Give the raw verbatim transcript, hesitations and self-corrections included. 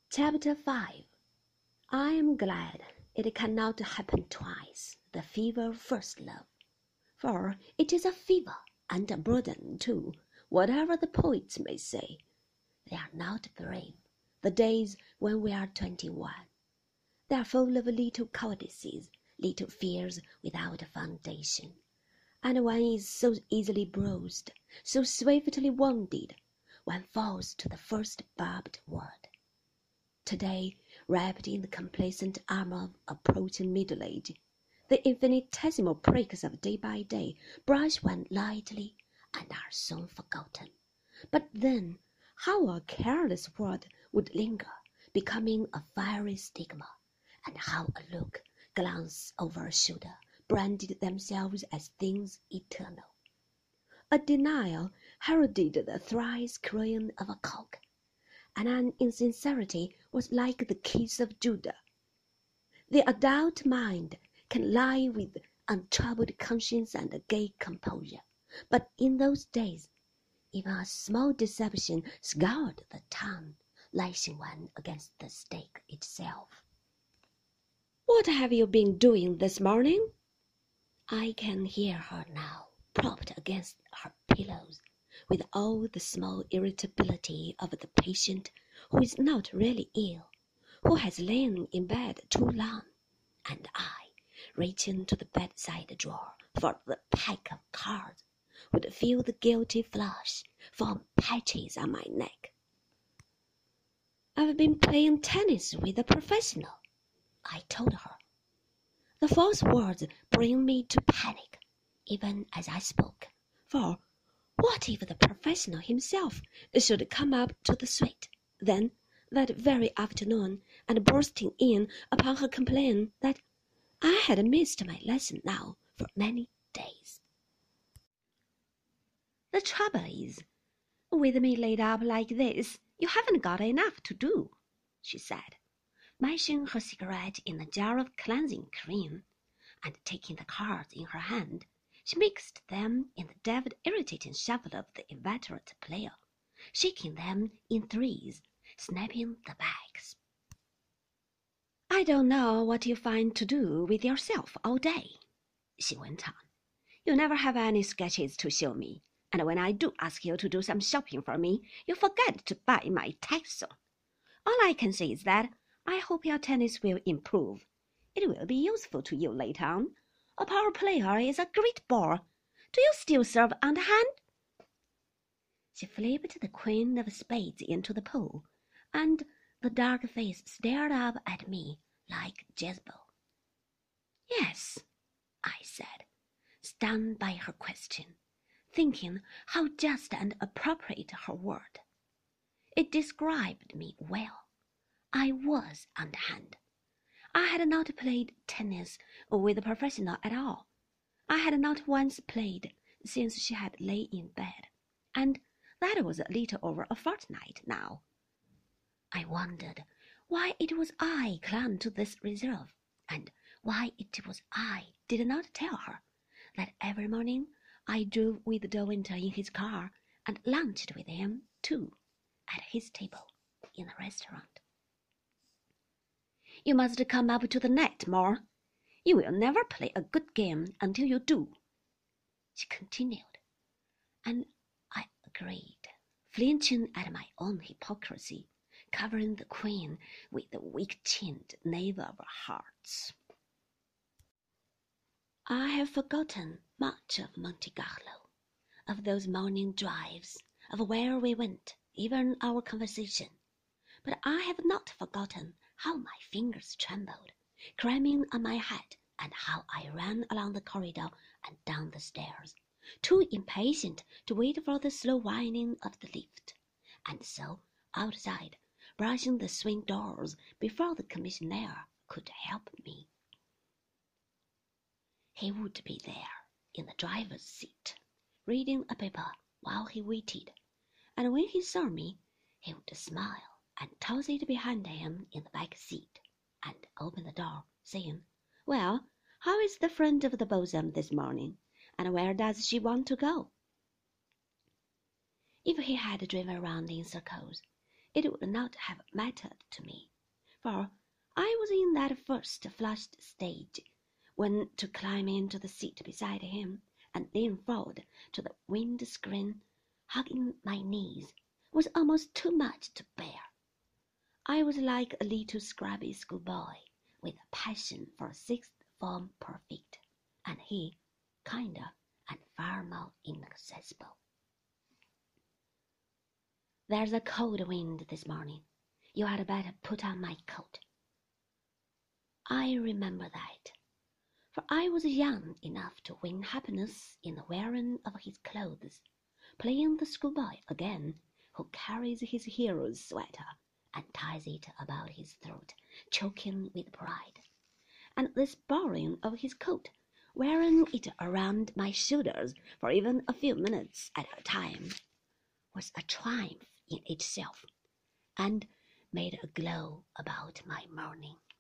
Chapter five. I am glad it cannot happen twice, the fever of first love, for it is a fever and a burden too, whatever the poets may say. They are not brave, the days when we are twenty-one. They are full of little cowardices, little fears without a foundation, and one is so easily bruised, so swiftly wounded, one falls to the first barbed word. Today, wrapped in the complacent armor of approaching middle age, the infinitesimal pricks of day by day brush one lightly and are soon forgotten. But then, how a careless word would linger, becoming a fiery stigma, and how a look, glance over a shoulder, branded themselves as things eternal. A denial heralded the thrice crowing of a cock, and an insincerity was like the kiss of Judah. The adult mind can lie with untroubled conscience and gay composure, but in those days, even a small deception scoured the tongue, lashing one against the stake itself. "What have you been doing this morning?" I can hear her now, propped against her pillows, with all the small irritability of the patient who is not really ill, who has lain in bed too long, and I, reaching to the bedside drawer for the pack of cards, would feel the guilty flush form patches on my neck. "I've been playing tennis with a professional," I told her. The false words bring me to panic, even as I spoke, for what if the professional himself should come up to the suite, then, that very afternoon, and bursting in upon her complain that I had missed my lesson now for many days. "The trouble is, with me laid up like this, you haven't got enough to do," she said, mashing her cigarette in a jar of cleansing cream, and taking the cards in her hand, she mixed them in the devil irritating shuffle of the inveterate player, shaking them in threes, snapping the backs. "I don't know what you find to do with yourself all day," she went on. "You never have any sketches to show me, and when I do ask you to do some shopping for me, you forget to buy my taxon. All I can say is that I hope your tennis will improve. It will be useful to you later on. A power player is a great bore. Do you still serve underhand?" She flipped the queen of spades into the pool, and the dark face stared up at me like Jezebel. "Yes," I said, stunned by her question, thinking how just and appropriate her word. It described me well. I was underhand. I had not played tennis with a professional at all. I had not once played since she had lay in bed, and that was a little over a fortnight now. I wondered why it was I clung to this reserve, and why it was I did not tell her that every morning I drove with De Winter in his car and lunched with him, too, at his table in the restaurant. "You must come up to the net more. You will never play a good game until you do," she continued, and I agreed, flinching at my own hypocrisy, covering the queen with the weak-chinned knave of hearts. I have forgotten much of Monte Carlo, of those morning drives, of where we went, even our conversation, but I have not forgotten how my fingers trembled, cramming on my hat, and how I ran along the corridor and down the stairs, too impatient to wait for the slow whining of the lift, and so outside, brushing the swing doors before the commissionaire could help me. He would be there in the driver's seat, reading a paper while he waited, and when he saw me, he would smile and toss it behind him in the back seat, and open the door, saying, "Well, how is the friend of the bosom this morning, and where does she want to go?" If he had driven around in circles, it would not have mattered to me, for I was in that first flushed stage when to climb into the seat beside him and lean forward to the wind-screen, hugging my knees, was almost too much to bear. I was like a little scrubby schoolboy with a passion for sixth form perfect, and he kinder and far more inaccessible. There's a cold wind this morning. You had better put on my coat. I remember that, for I was young enough to win happiness in the wearing of his clothes, playing the schoolboy again who carries his hero's sweater and ties it about his throat, choking with pride, and this borrowing of his coat, wearing it around my shoulders for even a few minutes at a time, was a triumph in itself, and made a glow about my morning.